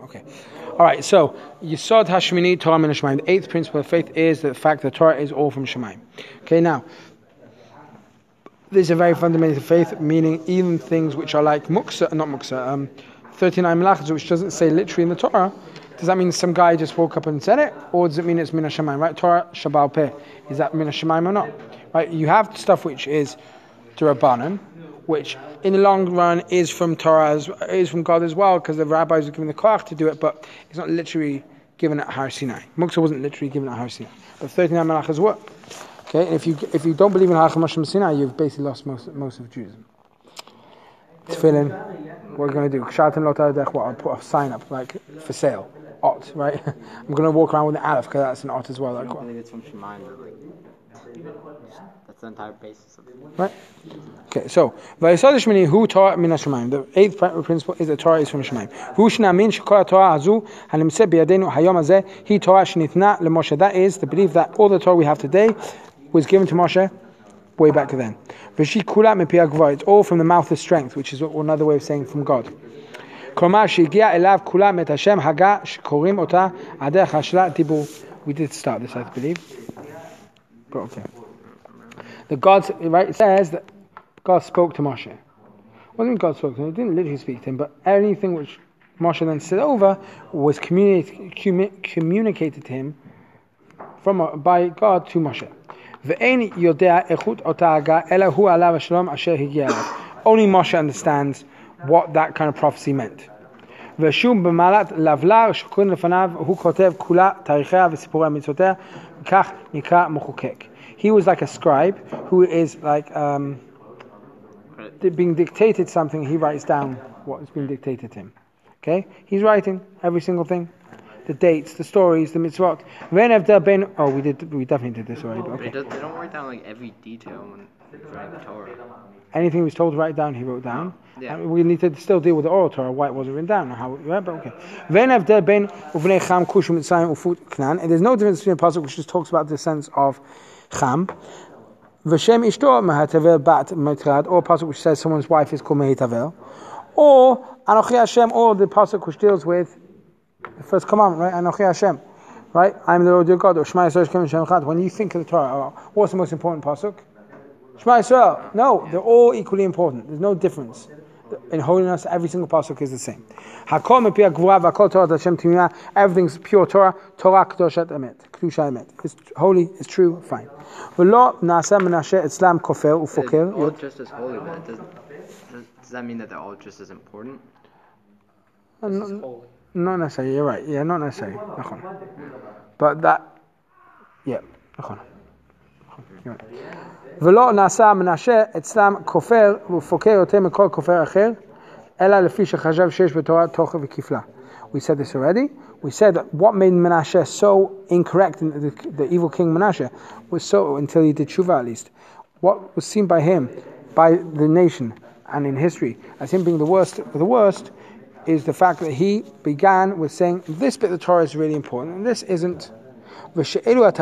Okay. All right. So Yisod Hashmini Torah Min Hashemayim. The eighth principle of faith is the fact that Torah is all from Shemayim. Okay. Now, this is a very fundamental faith, meaning even things which are like muksa, not muksa, 39 melachos, which doesn't say literally in the Torah. Does that mean some guy just woke up and said it, or does it mean it's Min Hashemayim? Right? Torah Shabal Peh. Is that Min Hashemayim or not? Right? You have stuff which is D'Rabbanan, which in the long run is from Torah, is from God as well, because the rabbis were given the koach to do it, but it's not literally given at Har Sinai. Muksa wasn't literally given at Har Sinai, but 39 melachos were. Okay, and if you don't believe in Halachah Moshe Sinai, you've basically lost most of Judaism. Tefillin, what we're going to do? Kshatim Lo Tadech. What? I'll put a sign up like for sale. Ot, right? I'm going to walk around with an aleph because that's an ot as well. I don't believe it's from Shemayim. That's the entire basis of it. Right? Okay, so Vayisod Shmini Hu Torah Min Hashemayim. The eighth principle is that Torah is from Shemayim. Hu Shnamin Shekol Torah Hazu Hanimseh Biyadenu Hayom Hazeh Hi Torah Shnitna LeMoshe. That is the belief that all the Torah we have today was given to Moshe way back then. V'shi Kula Mepi Agvar. It's all from the mouth of strength, which is another way of saying from God. Klamar Shigia Elav Kula Met Hashem Haga Shkorim Ota Adech Hashla Dibur. We did start this, I believe. But okay. The God, right, it says that God spoke to Moshe. What do you mean God spoke to him? He didn't literally speak to him, but anything which Moshe then said over was communicated to him by God to Moshe. Only Moshe understands what that kind of prophecy meant. He was like a scribe who is like being dictated something. He writes down what is being dictated to him. Okay, he's writing every single thing, the dates, the stories, the mitzvot. We definitely did this already. But okay. They don't write down like every detail when writing the Torah. Anything he was told to write down, he wrote down. Yeah. And we need to still deal with the oral Torah, why it wasn't written down, or how it went, but okay. And there's no difference between a pasuk which just talks about the sense of Cham, V'shem ishto mehatavel bat metrad, or a pasuk which says someone's wife is called Mehitavel, or Anochi Hashem, or the pasuk which deals with the first commandment, right? Anochi Hashem, right? I'm the Lord your God, or Shema Yisrael Shem Echad. When you think of the Torah, what's the most important pasuk? Shema Yisrael. No, they're all equally important. There's no difference. In holiness, every single pasuk is the same. Everything's pure Torah. Torah kedushat emet, kedusha emet. It's holy, it's true, fine. All just as holy, but does that mean that they're all just as important? Not necessarily. You're right. Yeah, not necessarily. But that, yeah. ולא נעשה מנשה אצלם כופר ופוקר יותר מכל כופר אחר אלא לפי שחשב שיש בתורה תוכן וכפלה. We said this already. We said that what made Menashe so incorrect, in the evil king Menashe, was so, until he did tshuva at least, what was seen by him, by the nation and in history as him being the worst is the fact that he began with saying this bit of the Torah is really important and this isn't. He said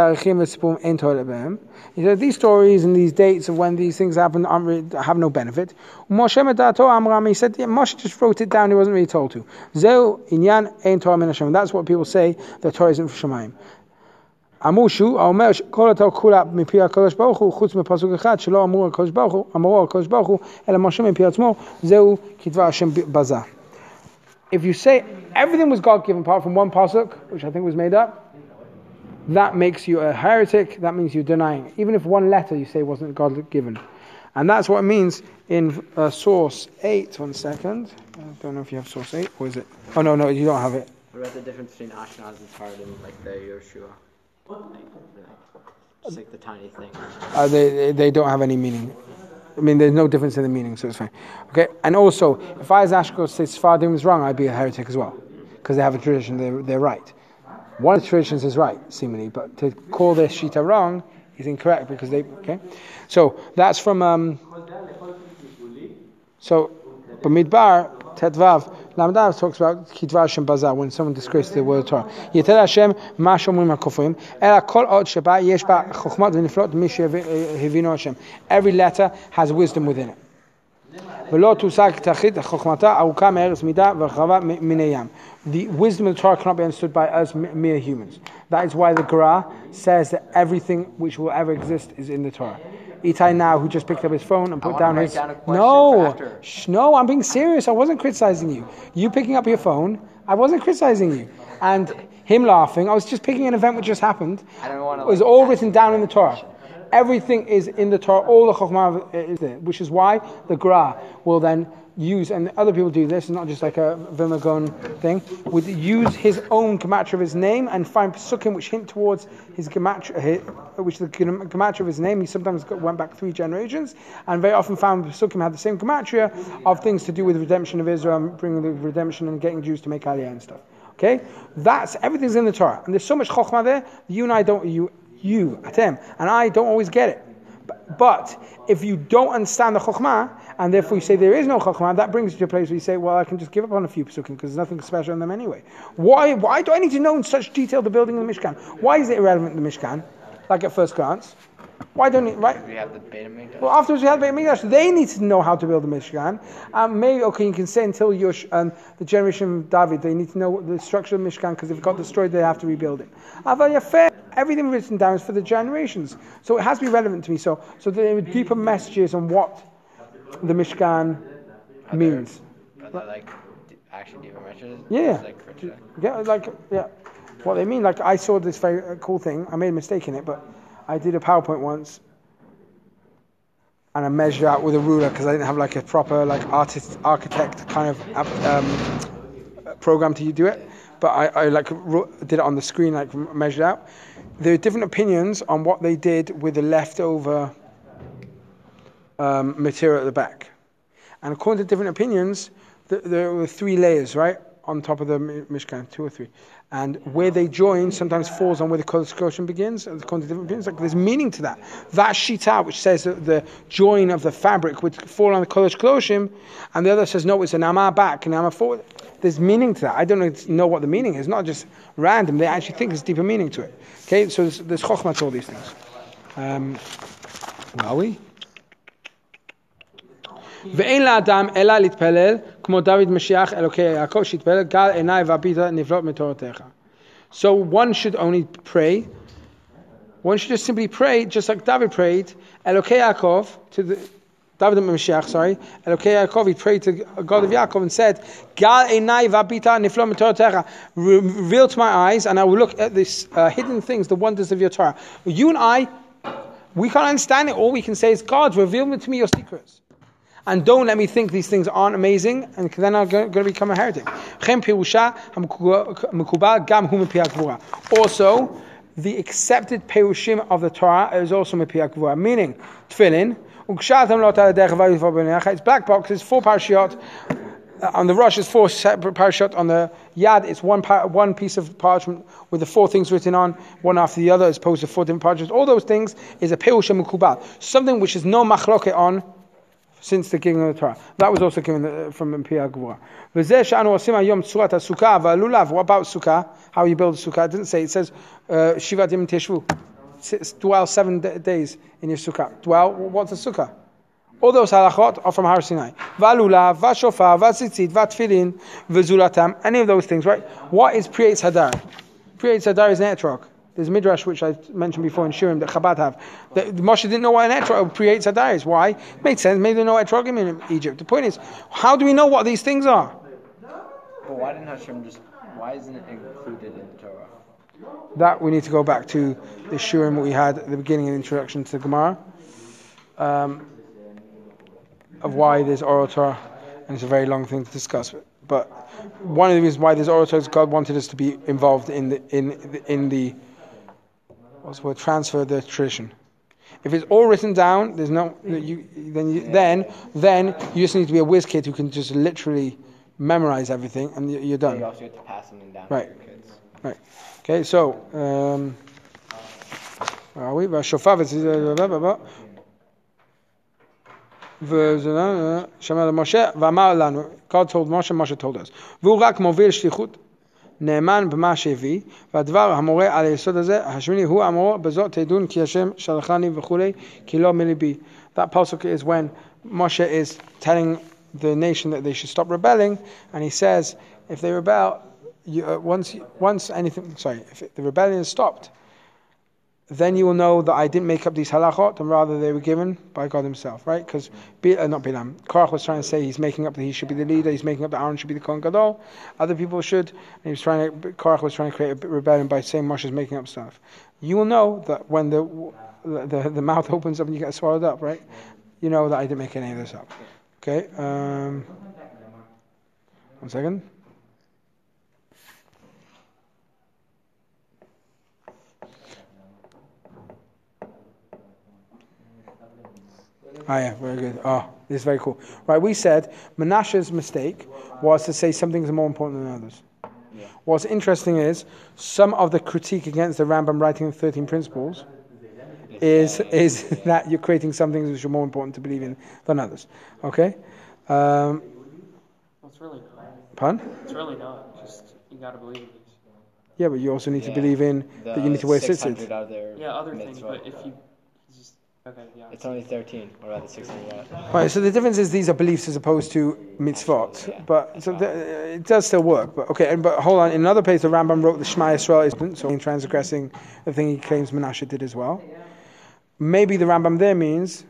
these stories and these dates of when these things happen have no benefit. He said Moshe just wrote it down, he wasn't really told to. That's what people say, the Torah isn't for Shemayim. Amushu אומר כל התורה כולה מפי הקדוש ברוך הוא חוץ מפסוק אחד שלא אמרו הקדוש ברוך הוא אלא משה מפי עצמו זהו כדבר השם בזה. If you say everything was God given apart from one pasuk, which I think was made up, that makes you a heretic. That means you're denying. Even if one letter you say wasn't God given. And that's what it means in source 8. 1 second. I don't know if you have source 8. Or is it? Oh, no, you don't have it. What about the difference between Ashkenaz and Sephardim and like the Yeshua? Just like the tiny thing. They don't have any meaning. I mean, there's no difference in the meaning, so it's fine. Okay? And also, if I as Ashkenaz say Sephardim was wrong, I'd be a heretic as well. Because they have a tradition, they're right. One of the traditions is right, seemingly, but to call their shita wrong is incorrect because they. Okay, so that's from. So, Bamidbar Tetvav Lamdav talks about Kidvar Hashem Bazar when someone disgraces the word of Torah. Yetel Hashem Ma Shomrim HaKofrim Ela Kol Od Sheba Yesh Ba Chochmat V'Niflot Mi Shehivino Hashem. Every letter has wisdom within it. The wisdom of the Torah cannot be understood by us mere humans. That is why the Gra says that everything which will ever exist is in the Torah. Itai now, who just picked up his phone and put down his... No, I'm being serious. I wasn't criticizing you. You picking up your phone, I wasn't criticizing you. And him laughing, I was just picking an event which just happened. It was all written down in the Torah. Everything is in the Torah. All the Chokhmah is there, which is why the Gra will then use, and other people do this, not just like a Vilna Gaon thing, would use his own gematria of his name and find psukim which hint towards his gematria, which the gematria of his name. He sometimes went back 3 generations, and very often found psukim had the same gematria of things to do with the redemption of Israel, and bringing the redemption and getting Jews to make Aliyah and stuff. Okay, that's everything's in the Torah, and there's so much chokhmah there. You and I don't, you Atem, and I don't always get it. But if you don't understand the chokhmah, and therefore you say there is no chokhmah, that brings you to a place where you say, well, I can just give up on a few psukim because there's nothing special in them anyway. Why do I need to know in such detail the building of the Mishkan? Why is it irrelevant in the Mishkan? Like at first glance. Why don't it, right? We have the Beit HaMikdash. Well, afterwards we have the Beit HaMikdash. They need to know how to build the Mishkan. Maybe, okay, you can say until you're, the generation of David, they need to know the structure of the Mishkan because if it got destroyed, they have to rebuild it. Everything written down is for the generations. So it has to be relevant to me. So there are deeper messages on what the Mishkan means. Are there like actually deeper messages? Yeah. What they mean. Like I saw this very cool thing. I made a mistake in it, but I did a PowerPoint once, and I measured out with a ruler because I didn't have like a proper like architect kind of program to do it. But I did it on the screen, like measured out. There are different opinions on what they did with the leftover material at the back, and according to different opinions, there were 3 layers, right, on top of the Mishkan, 2 or 3. And where they join sometimes falls on where the Kodesh Kodashim begins. According to different opinions, like there's meaning to that. That shita, which says that the join of the fabric would fall on the Kodesh Kodashim, and the other says no, it's an amma back and amma forward. There's meaning to that. I don't know what the meaning is. It's not just random. They actually think there's deeper meaning to it. Okay, so there's chokhmah to all these things. Are we? ואין לאדם אלא להתפלל כמו דוד משיח אלוקי יעקב שהתפלל גל עיניי והביטה נפלאות מתורתך. So one should only pray. One should just simply pray, just like David prayed, Elokei Yaakov, to the David Mashiach, sorry, Elokei Yaakov, he prayed to God of Yaakov and said, Gal einai v'abita niflo m'toratecha, reveal to my eyes, and I will look at these hidden things, the wonders of your Torah. You and I, we can't understand it. All we can say is, God, reveal to me your secrets. And don't let me think these things aren't amazing, and then I'm going to become a heretic. Also, the accepted perushim of the Torah is also mepiach gvura, meaning tefillin. It's black box. It's 4 parashiyot. On the Rosh, it's 4 separate parashiyot. On the Yad, it's one piece of parchment with the 4 things written on, one after the other, as opposed to 4 different parchments. All those things is a perushim mukubal, something which is no machloket on since the giving of the Torah. That was also given from Piyah Gvura. What about Sukkah? How you build a Sukkah? It didn't say. It says, Shivat Yom Teshvu. Dwell 7 days in your Sukkah. Dwell, what's a Sukkah? All those halachot are from Har Sinai. Valulav, Vashofar, Vatzitzit, Vatfilin, V'zulatam. Any of those things, right? What is Priyetz Hadar? Priyetz Hadar is an etrog. There's a midrash which I mentioned before in Shurim that Chabad have. That Moshe didn't know what an etrog creates hadar is. Why? It made sense. Maybe they know etrogim in Egypt. The point is, how do we know what these things are? But why didn't Hashem why isn't it included in the Torah? That we need to go back to the Shurim we had at the beginning of the introduction to the Gemara. Of why there's oral Torah, and it's a very long thing to discuss. But one of the reasons why there's oral Torah is God wanted us to be involved in the what's the word? Transfer the tradition. If it's all written down, there's no then you just need to be a whiz kid who can just literally memorize everything, and you're done. You also have to pass something down right. to your kids. Right. Okay. So, where are we? God told Moshe told us. נאמן במה שהביא, והדבר המורה על היסוד הזה, השמיני הוא המורה, בזאת תדון כי השם שלחני וכולי, כי לא מליבי. That pasuk is when Moshe is telling the nation that they should stop rebelling, and he says, if they rebel, if the rebellion is stopped, then you will know that I didn't make up these halachot, and rather they were given by God Himself, right? Because not Bilam, Korach was trying to say he's making up that he should be the leader, he's making up that Aaron should be the Kohen Gadol, other people should, and Korach was trying to create a rebellion by saying Moshe is making up stuff. You will know that when the mouth opens up and you get swallowed up, right? You know that I didn't make any of this up. Okay. 1 second. Yeah, very good. This is very cool. Right, we said Menashe's mistake was to say some things are more important than others. Yeah. What's interesting is some of the critique against the Rambam writing the 13 principles is that you're creating some things which are more important to believe in than others. Okay? Well, it's really not. Pardon? It's really not. Just, you got to believe in these. Yeah, but you also need to believe in that you need to wear tzitzit. Other things, but if you... Okay, yeah. It's only 13, or rather 600. Right, so the difference is these are beliefs as opposed to mitzvot. Yeah. But so it does still work. But okay, but hold on. In another place, the Rambam wrote the Shema Yisrael isn't, so in transgressing the thing he claims Menashe did as well. Maybe the Rambam there means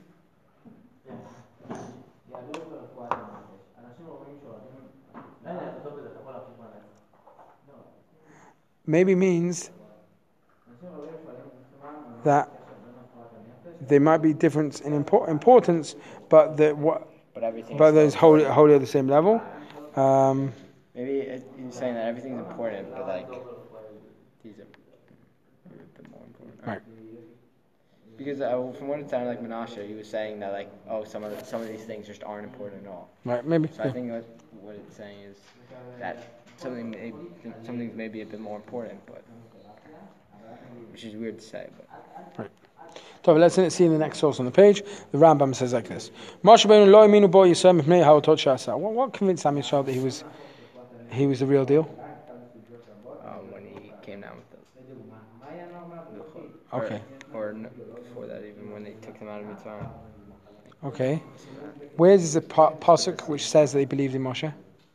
that there might be difference in importance, but there's wholly at the same level. Maybe he's saying that everything's important, but like these are maybe a bit more important. Right. Because from what it sounded like Menashe, he was saying that like some of these things just aren't important at all. Right. Maybe. So I think what it's saying is that some things may be a bit more important, but which is weird to say, but. Right. So let's see in the next source on the page. The Rambam says like this: Moshe Rabbeinu lo iminu bo Yisrael mipnei ha'otot she'asa. What convinced Am Yisrael that he was the real deal? When he came down with the okay. Or before that, even when they took them out of Mitzrayim. Okay. Where is the pasuk which says that they believed in Moshe?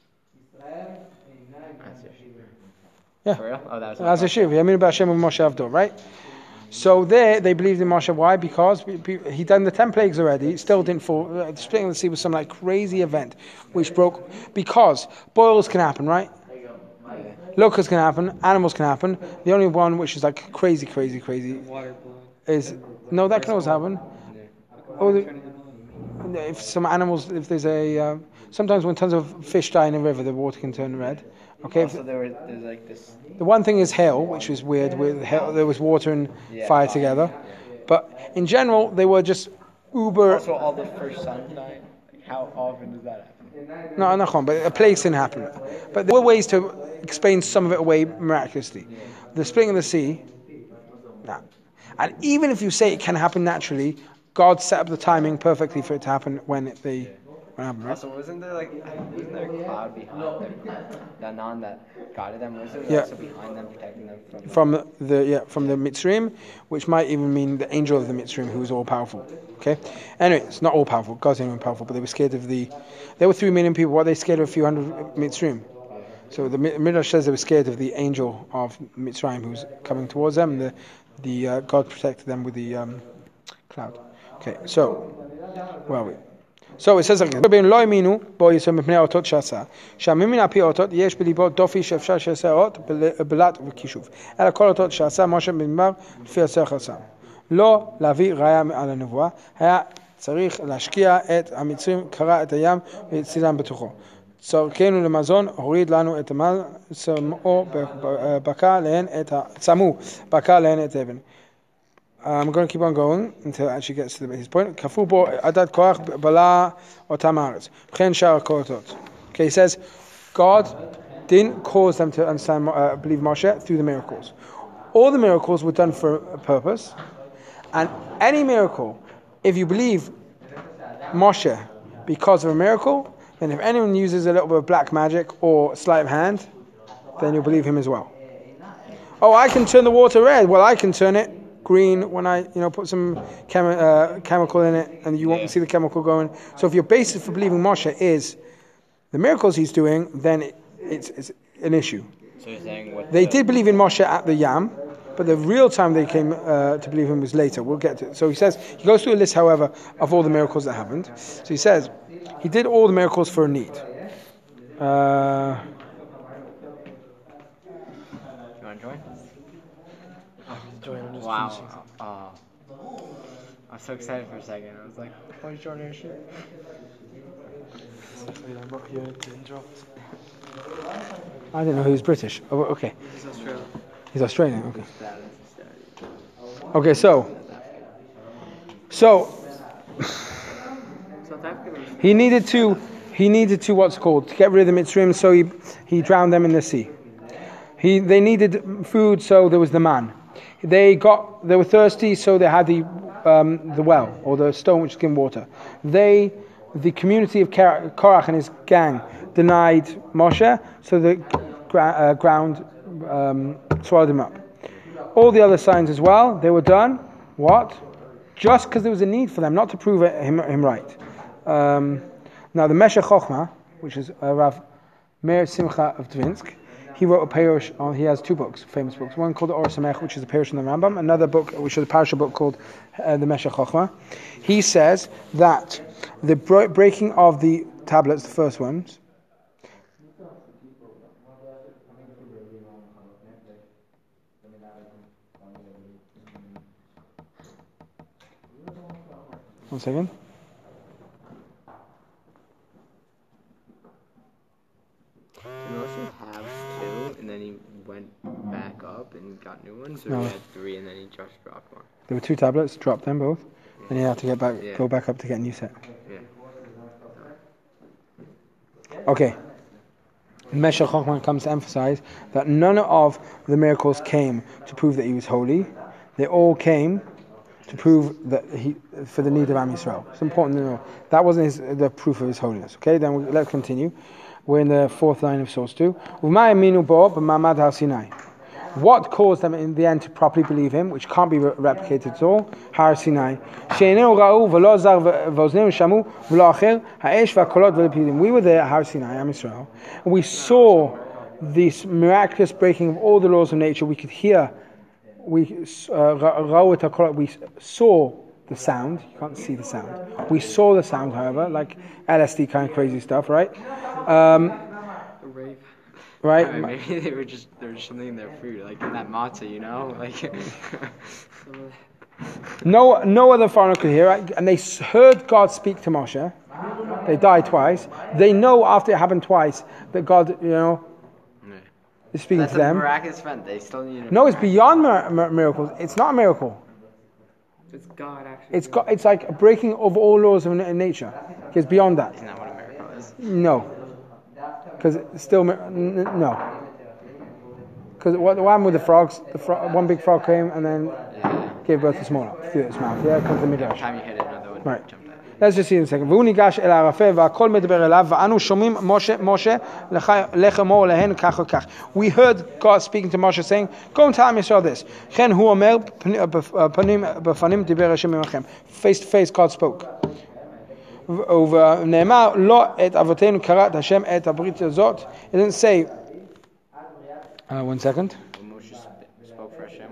Yeah. For real? Oh, that was As a shiv. Yaminu b'Hashem Moshe Avdo, right? So there, they believed in Moshe. Why? Because he done the 10 plagues already. It still didn't fall. The splitting of the sea was some like crazy event which broke. Because boils can happen, right? Locusts can happen. Animals can happen. The only one which is like crazy is that can always happen. If some animals, if there's a sometimes when tons of fish die in a river, the water can turn red. Okay. Also, there's like this. The one thing is hail, which is weird. With hail, there was water and fire together, but in general, they were just uber. Also, all the first sons dying. Like, how often does that happen? No, not but a plague didn't happen. But there were ways to explain some of it away miraculously. The splitting of the sea, nah. And even if you say it can happen naturally, God set up the timing perfectly for it to happen when they happened, right? Also, wasn't there a cloud behind them, that guided them? Was there also behind them, protecting them from the Mitzrayim, which might even mean the angel of the Mitzrayim, who was all powerful. Okay. Anyway, it's not all powerful. God's not even powerful, but they were scared of There were 3 million people. What are they scared of? A few hundred Mitzrayim. So the Midrash says they were scared of the angel of Mitzrayim who's coming towards them. The God protected them with the cloud. Okay. So where are we? So it says like this: "Rabbeinu lo iminu bo Yisrael mipnei ha'otot she'asa, she'amimin al pi ha'otot yesh b'libo dofi she'efshar she'aseh ha'ot belat v'kishuv. Ela kol ha'otot she'asa Moshe במדבר לפי הסך עשה. לא להביא ראיה על הנבואה, היה צריך להשקיע את המצרים, קרע את הים והצילם בתוכו. צורכנו למזון, הוריד לנו את המל, צמאו בקע להן את אבן." I'm going to keep on going until it actually gets to his point. כפו בו עדת כוח בלה אותם הארץ. וכן שאר הקולטות. Okay, he says, God didn't cause them to understand, believe Moshe through the miracles. All the miracles were done for a purpose. And any miracle, if you believe Moshe because of a miracle, then if anyone uses a little bit of black magic or sleight of hand, then you'll believe him as well. Oh, I can turn the water red. Well, I can turn it green when I put some chemical in it, and you won't see the chemical going. So if your basis for believing Moshe is the miracles he's doing, then it's an issue. So you're saying they did believe in Moshe at the Yam, but the real time they came to believe him was later. We'll get to it. So he goes through a list, however, of all the miracles that happened. So he says he did all the miracles for a need. Do you want to join? Wow. I was so excited for a second. I was like, why is Jordan shit? I didn't know he was British. Oh, okay. He's Australian. He's Australian, okay. Okay, so he needed to what's called to get rid of the Mitzrayim, so he drowned them in the sea. They needed food, so there was the man. They were thirsty, so they had the well or the stone which given water. The community of Korach and his gang denied Moshe, so the ground swallowed him up. All the other signs as well, they were done. What? Just because there was a need for them, not to prove him right. Now the Meshech Chochmah, which is Rav Meir Simcha of Dvinsk, he wrote a perush on. He has two books, famous books. One called the Or Samech, which is a perush on the Rambam. Another book, which is a parasha book called the Meshech Chochmah. He says that the breaking of the tablets, the first ones. One second. Have two, and then he went back up and got new ones, or he had three and then he just dropped one? There were two tablets, dropped them both, and he had to go back up to get a new set. Yeah. Okay. Meshech Chochmah comes to emphasize that none of the miracles came to prove that he was holy. They all came to prove that for the need of Am Yisrael. It's important to know that wasn't the proof of his holiness. Okay, then let's continue. We're in the fourth line of source 2. What caused them in the end to properly believe him, which can't be replicated at all? Har Sinai. We were there at Har Sinai, Am Yisrael, and we saw this miraculous breaking of all the laws of nature. We could hear, we saw the sound. You can't see the sound. We saw the sound, however, like LSD kind of crazy stuff, right? Rave. Right? I mean, maybe they were just something in their food, like in that matzah, like. No other foreigner could hear it, and they heard God speak to Moshe. They died twice. They know after it happened twice that God, is speaking to them. That's a miraculous event. They still need it. No, it's beyond miracles. It's not a miracle. It's God actually. It's like a breaking of all laws of nature. It's beyond that. Isn't that what a miracle is? No, because it's still no. Because what happened with the frogs? One big frog came and then gave birth to smaller through its mouth. Yeah, comes the midrash. Every time you hit it, another one Right. jumped out. Let's just see in a second. והוא ניגש אל הערפל והכל מדבר אליו ואנו שומעים משה לך אמור להן כך וכך. We heard God speaking to Moshe saying, go and tell Am Yisrael this. כן הוא אומר פנים בפנים דיבר השם עמכם. Face to face God spoke. ונאמר לא את אבותינו קראת השם את הברית הזאת. It didn't say 1 second. When Moshe spoke for Hashem,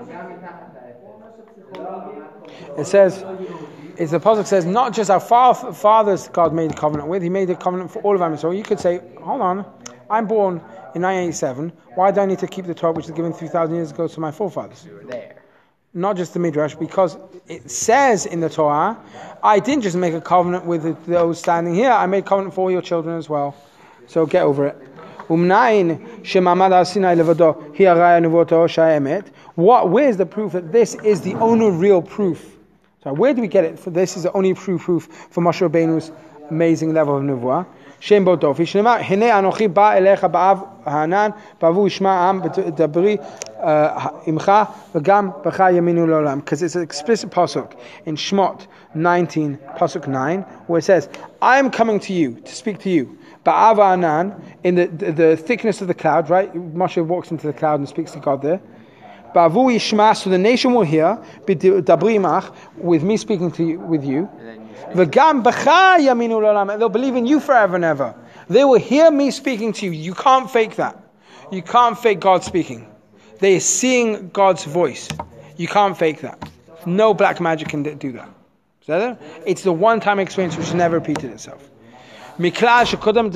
It says, the pasuk says, not just our fathers God made a covenant with, he made a covenant for all of Am Yisrael. You could say, hold on, I'm born in 1987, why do I need to keep the Torah which was given 3,000 years ago to my forefathers? we were there. Not just the Midrash, because it says in the Torah, I didn't just make a covenant with those standing here, I made a covenant for all your children as well. So get over it. Where's the proof that this is the only real proof? So where do we get it? For this is the only true proof for Moshe Rabbeinu's amazing level of nevuah. Shem bo dofi. Shnema hine anochi ba elecha ba'av hanan ba'avu ishma am b'dabri imcha v'gam b'cha yaminu l'olam. Because it's an explicit pasuk in Shmot 19 pasuk 9 where it says, I am coming to you to speak to you. Ba'av hanan, in the thickness of the cloud, right? Moshe walks into the cloud and speaks to God there. Ba'avu yishma, so the nation will hear, b'dabrimach, with me speaking to you, with you. V'gam b'cha yaminu l'olam, they'll believe in you forever and ever. They will hear me speaking to you. You can't fake that. You can't fake God speaking. They are seeing God's voice. You can't fake that. No black magic can do that. It's the one-time experience which never repeated itself. Beforehand,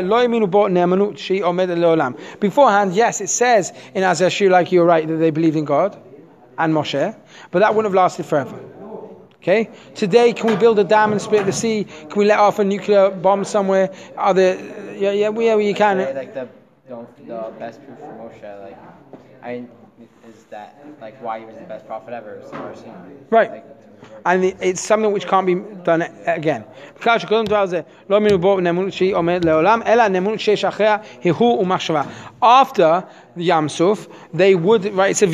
yes, it says in Azashir, like you're right, that they believed in God and Moshe, but that wouldn't have lasted forever. Okay? Today, can we build a dam and split the sea? Can we let off a nuclear bomb somewhere? You can. Like the best proof for Moshe, is that why he was the best prophet ever. Right. And it's something which can't be done again. After the Yam Suf, they would, right, it said,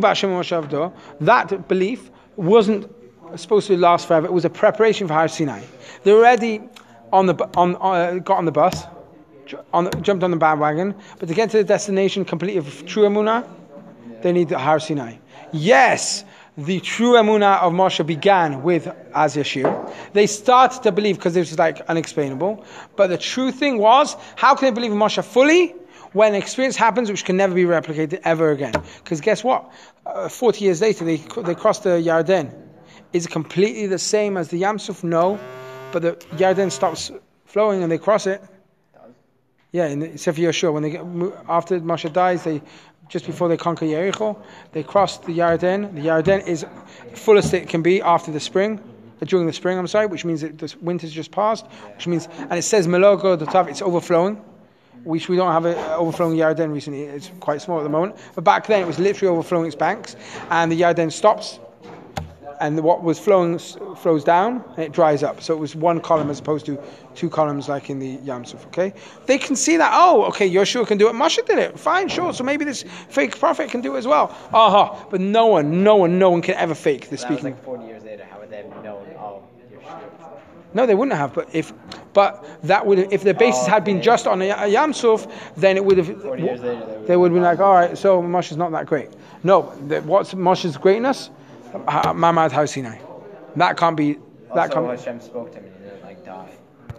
that belief wasn't supposed to last forever. It was a preparation for Har Sinai. They already got on the bus, jumped on the bandwagon, but to get to the destination completely of true Emunah, they need the Har Sinai. Yes, the true Emunah of Moshe began with Az Yashir. They started to believe because it was unexplainable. But the true thing was, how can they believe in Moshe fully when an experience happens which can never be replicated ever again? Because guess what? 40 years later, they crossed the Yarden. Is it completely the same as the Yam Suf? No. But the Yarden stops flowing and they cross it. Yeah, in Sefer Yeshua, after Moshe dies, just before they conquer Jericho, they cross the Yarden. The Yarden is fullest it can be after the spring, during the spring, which means that the winter's just passed, which means, and it says Melogo Dotav, it's overflowing, which we don't have an overflowing Yarden recently, it's quite small at the moment, but back then it was literally overflowing its banks, and the Yarden stops, and what was flowing flows down, and it dries up. So it was one column as opposed to two columns like in the Yam Suf, okay? They can see that, Yeshua can do it, Moshe did it, fine, sure, so maybe this fake prophet can do it as well. But no one can ever fake the speaking. That was 40 years later, how would they have known, Yeshua? No, they wouldn't have, if the basis had been just on a Yam Suf, then it would have, 40 years later, they would have been like, alright, so Moshe's not that great. No, what's Moshe's greatness? Mamad Har Sinai. That can't be. Hashem spoke to me.